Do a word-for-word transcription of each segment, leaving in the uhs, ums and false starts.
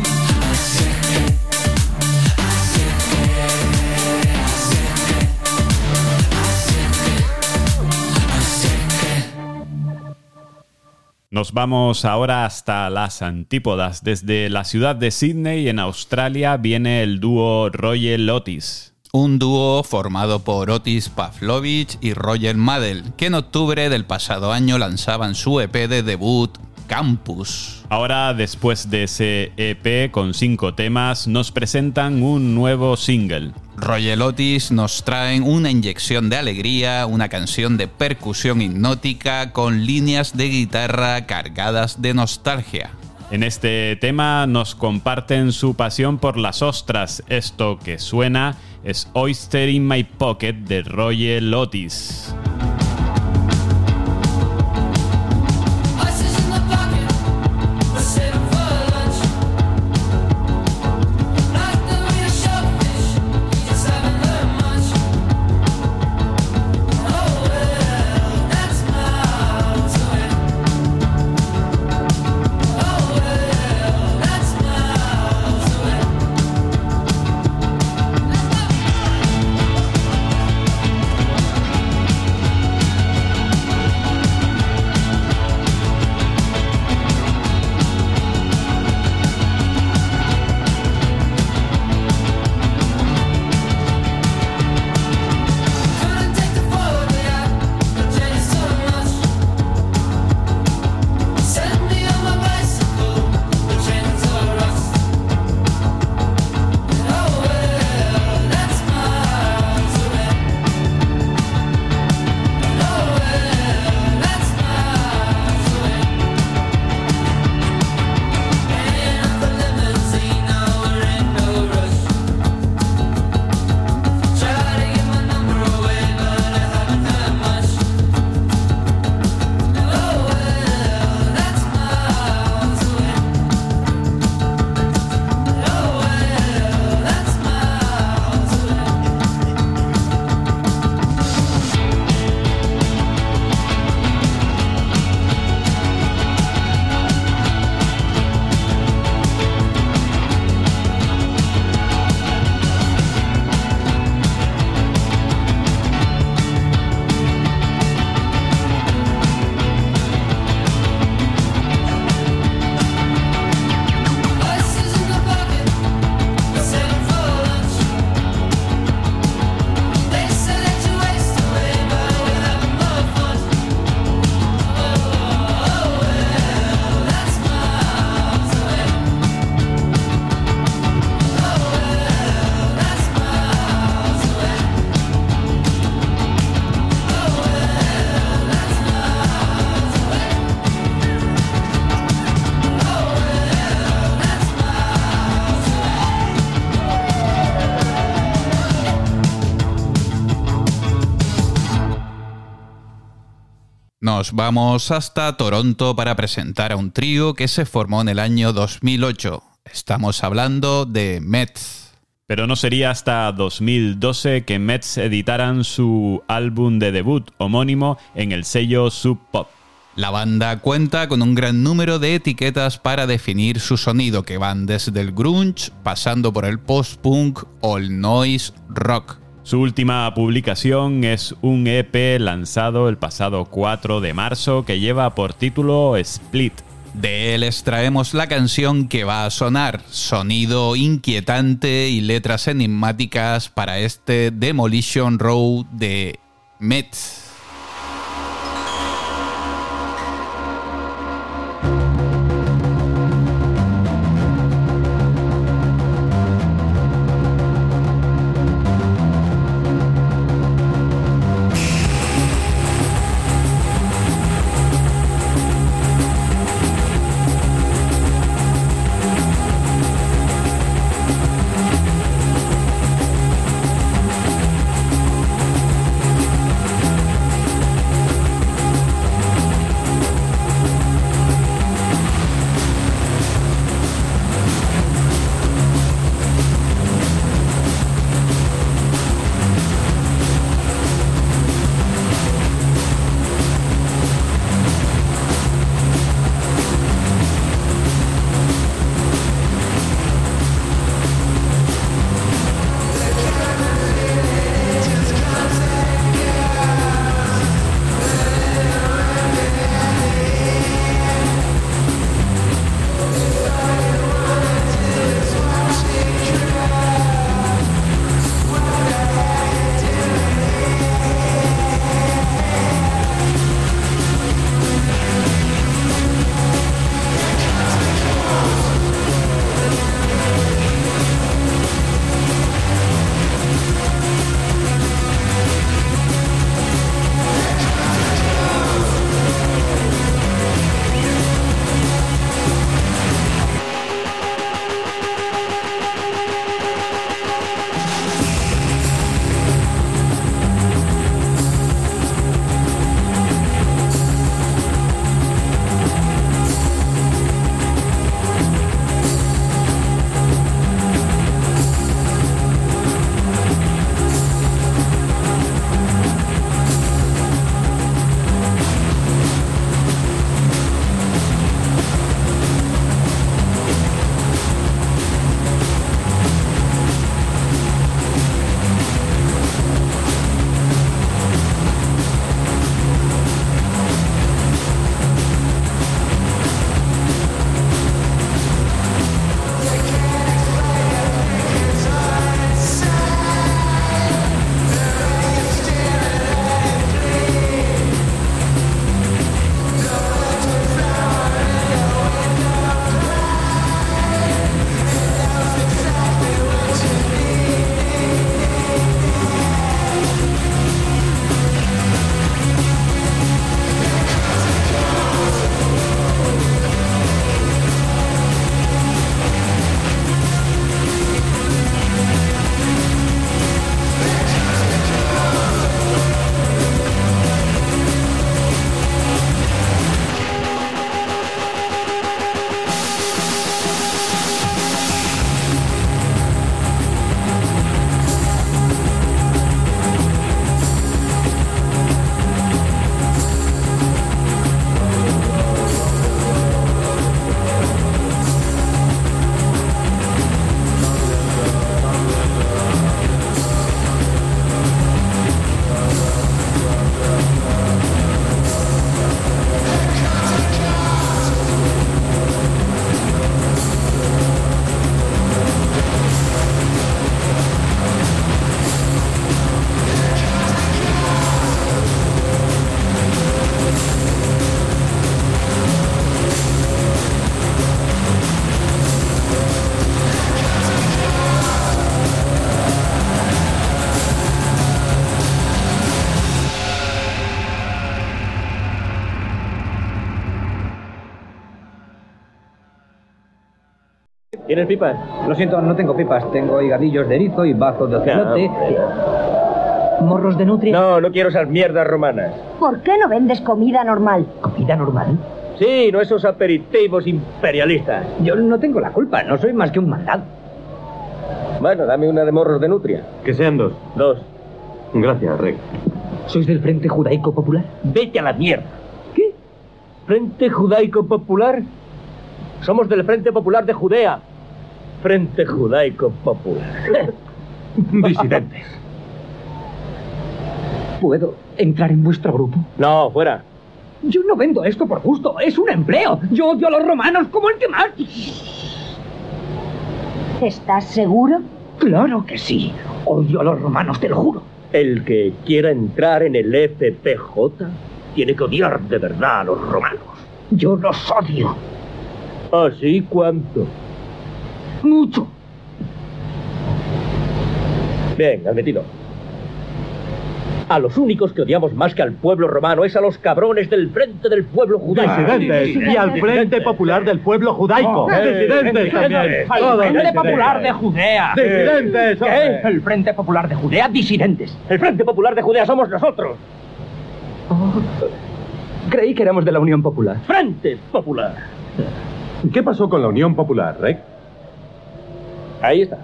Nos vamos ahora hasta las antípodas. Desde la ciudad de Sydney, en Australia, viene el dúo Royal Otis. Un dúo formado por Otis Pavlovich y Roger Madel, que en octubre del pasado año lanzaban su E P de debut, Campus. Ahora, después de ese E P con cinco temas, nos presentan un nuevo single. Royal Otis nos traen una inyección de alegría, una canción de percusión hipnótica con líneas de guitarra cargadas de nostalgia. En este tema nos comparten su pasión por las ostras. Esto que suena es Oyster in My Pocket de Royal Otis. Nos vamos hasta Toronto para presentar a un trío que se formó en el año dos mil ocho. Estamos hablando de Mets. Pero no sería hasta dos mil doce que Mets editaran su álbum de debut homónimo en el sello Sub Pop. La banda cuenta con un gran número de etiquetas para definir su sonido, que van desde el grunge, pasando por el post-punk o el noise rock. Su última publicación es un E P lanzado el pasado cuatro de marzo que lleva por título Split. De él extraemos la canción que va a sonar, sonido inquietante y letras enigmáticas para este Demolition Row de Mets. ¿Tienes pipas? Lo siento, no tengo pipas. Tengo higadillos de erizo y bazos de ocelote. ¿Morros de nutria? No, no quiero esas mierdas romanas. ¿Por qué no vendes comida normal? ¿Comida normal? Sí, no esos aperitivos imperialistas. Yo no tengo la culpa, no soy más que un mandado. Bueno, dame una de morros de nutria. Que sean dos. Dos. Gracias, Rey. ¿Sois del Frente Judaico Popular? Vete a la mierda. ¿Qué? ¿Frente Judaico Popular? Somos del Frente Popular de Judea. Frente Judaico Popular. Disidentes. ¿Puedo entrar en vuestro grupo? No, fuera. Yo no vendo esto por gusto, es un empleo. Yo odio a los romanos como el que más. ¿Estás seguro? Claro que sí. Odio a los romanos, te lo juro. El que quiera entrar en el F P J tiene que odiar de verdad a los romanos. Yo los odio. ¿Así cuánto? Mucho. Bien, admitido. A los únicos que odiamos más que al pueblo romano es a los cabrones del Frente del Pueblo Judaico. Disidentes. Y al Frente Popular del Pueblo Judaico. Disidentes también. Al Frente Popular de Judea. Disidentes. ¿Qué? El Frente Popular de Judea, disidentes. El Frente Popular de Judea somos nosotros. Oh, creí que éramos de la Unión Popular. Frente Popular. ¿Qué pasó con la Unión Popular, Rey? Ahí está.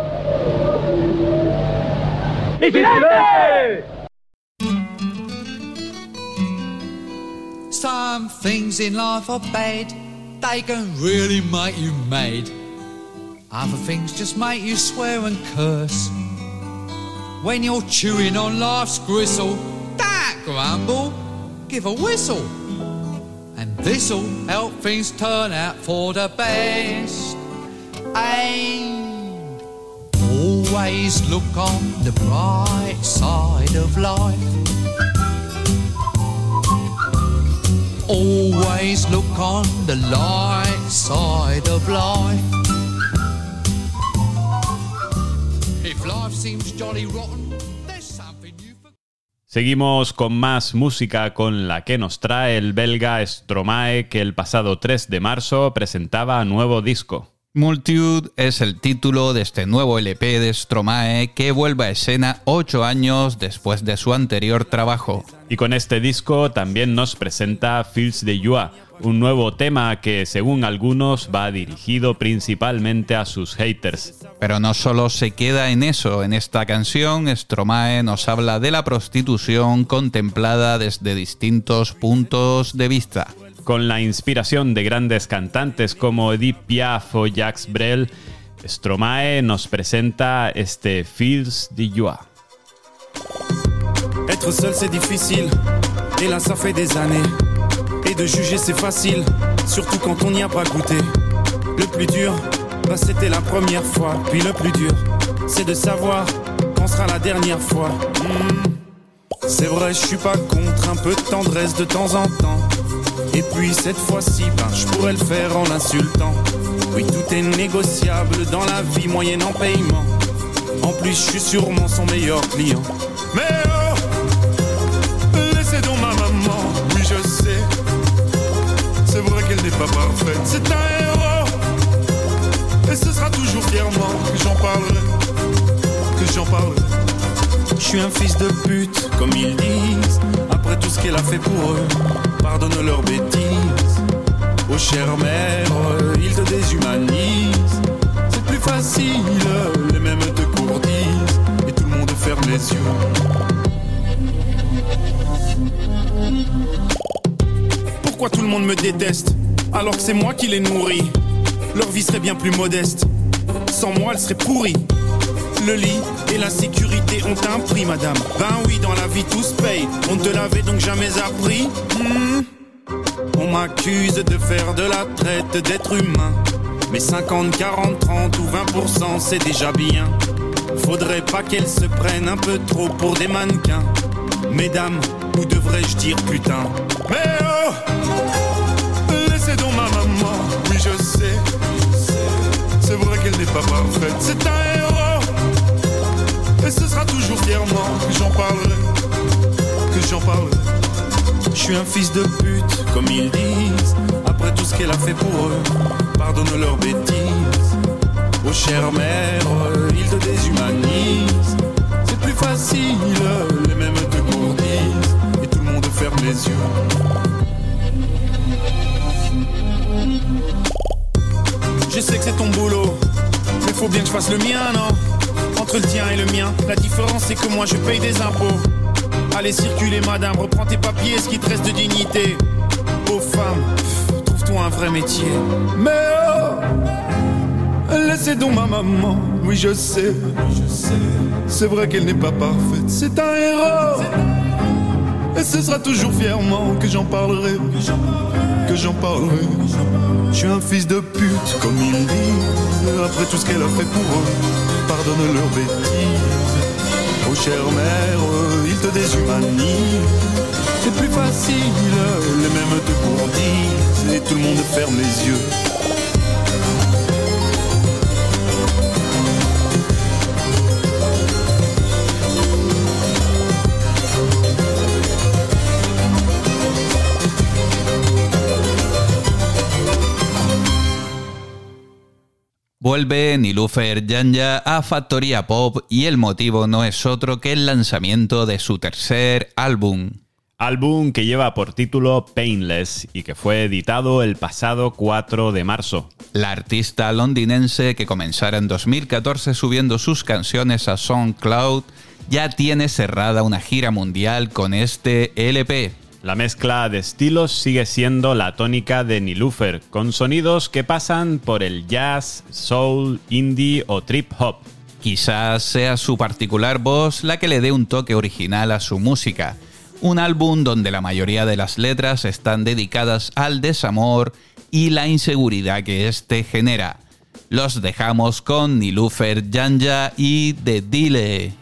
¡Disidentes! Some things in life are bad, they can really make you mad. Other things just make you swear and curse. When you're chewing on life's gristle, don't grumble, give a whistle. And this'll help things turn out for the best. And always look on the bright side of life. Always look on the light side of life. If life seems jolly rotten, there's something you forgot. Seguimos con más música con la que nos trae el belga Stromae, que el pasado tres de marzo presentaba nuevo disco. Multitude es el título de este nuevo L P de Stromae que vuelve a escena ocho años después de su anterior trabajo. Y con este disco también nos presenta Fils de Joie, un nuevo tema que según algunos va dirigido principalmente a sus haters. Pero no solo se queda en eso, en esta canción Stromae nos habla de la prostitución contemplada desde distintos puntos de vista. Con la inspiración de grandes cantantes como Edith Piaf o Jacques Brel, Stromae nos presenta este Fils de Joie. Être seul c'est difficile, et là ça fait des années. Et de juger c'est facile, surtout quand on n'y a pas goûté. Le plus dur, bah c'était la première fois. Puis le plus dur, c'est de savoir quand sera la dernière fois. Mmh. C'est vrai, je suis pas contre un peu de tendresse de temps en temps. Et puis cette fois-ci, ben, je pourrais le faire en l'insultant. Oui, tout est négociable dans la vie moyenne en paiement. En plus, je suis sûrement son meilleur client. Mais oh, laissez donc ma maman, oui je sais. C'est vrai qu'elle n'est pas parfaite, c'est un héros. Et ce sera toujours fièrement que j'en parlerai, que j'en parlerai. Je suis un fils de pute, comme ils disent. Après tout ce qu'elle a fait pour eux, pardonne leurs bêtises. Oh chère mère, ils te déshumanisent. C'est plus facile, les mêmes te courtisent. Et tout le monde ferme les yeux. Pourquoi tout le monde me déteste, alors que c'est moi qui les nourris? Leur vie serait bien plus modeste, sans moi elle serait pourrie. Le lit et la sécurité ont un prix, madame. Ben oui, dans la vie tout se paye. On ne te l'avait donc jamais appris. mmh. On m'accuse de faire de la traite d'êtres humains. Mais cinquante, quarante, trente ou vingt pour cent c'est déjà bien. Faudrait pas qu'elles se prennent un peu trop pour des mannequins. Mesdames, ou devrais-je dire putain? Mais oh, laissez donc ma maman, oui je sais. C'est vrai qu'elle n'est pas parfaite, c'est un héros. Et ce sera toujours fièrement que j'en parlerai, que j'en parlerai. Je suis un fils de pute, comme ils disent. Après tout ce qu'elle a fait pour eux, pardonne leurs bêtises. Oh chère mère, ils te déshumanisent. C'est plus plus facile, les mêmes te gourdissent et tout le monde ferme les yeux. Je sais que c'est ton boulot, mais faut bien que je fasse le mien, non? Entre le tien et le mien, la différence c'est que moi je paye des impôts. Allez circuler madame, reprends tes papiers, ce qui te reste de dignité. Aux femmes, pff, trouve-toi un vrai métier. Mais oh, laissez donc ma maman, oui je sais, c'est vrai qu'elle n'est pas parfaite, c'est un héros. Et ce sera toujours fièrement que j'en parlerai, que j'en parlerai. Je suis un fils de pute, comme ils disent, après tout ce qu'elle a fait pour eux, pardonne leurs bêtises. Oh chère mère, ils te déshumanisent. C'est plus facile, les mêmes te gourdissent et tout le monde ferme les yeux. Vuelve Nilufer Yanya a Factoría Pop y el motivo no es otro que el lanzamiento de su tercer álbum. Álbum que lleva por título Painless y que fue editado el pasado cuatro de marzo. La artista londinense, que comenzara en dos mil catorce subiendo sus canciones a SoundCloud, ya tiene cerrada una gira mundial con este L P. La mezcla de estilos sigue siendo la tónica de Nilufer, con sonidos que pasan por el jazz, soul, indie o trip hop. Quizás sea su particular voz la que le dé un toque original a su música. Un álbum donde la mayoría de las letras están dedicadas al desamor y la inseguridad que éste genera. Los dejamos con Nilufer Yanya y The Dile.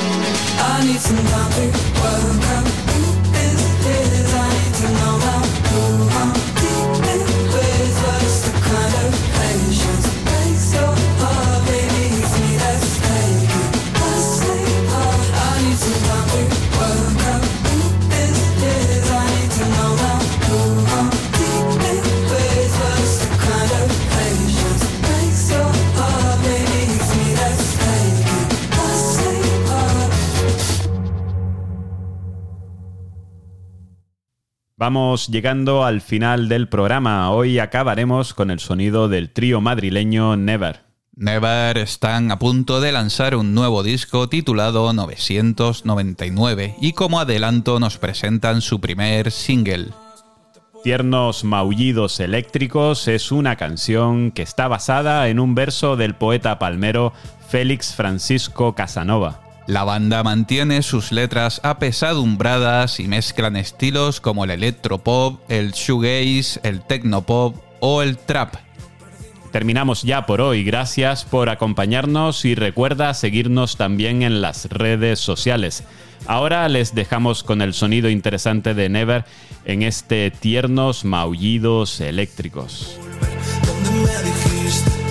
I need some time to work out who this is. I need to know how. Vamos llegando al final del programa. Hoy acabaremos con el sonido del trío madrileño Never. Never están a punto de lanzar un nuevo disco titulado novecientos noventa y nueve y como adelanto nos presentan su primer single. Tiernos maullidos eléctricos es una canción que está basada en un verso del poeta palmero Félix Francisco Casanova. La banda mantiene sus letras apesadumbradas y mezclan estilos como el electropop, el shoegaze, el technopop o el trap. Terminamos ya por hoy. Gracias por acompañarnos y recuerda seguirnos también en las redes sociales. Ahora les dejamos con el sonido interesante de Never en este Tiernos maullidos eléctricos. Donde me dijiste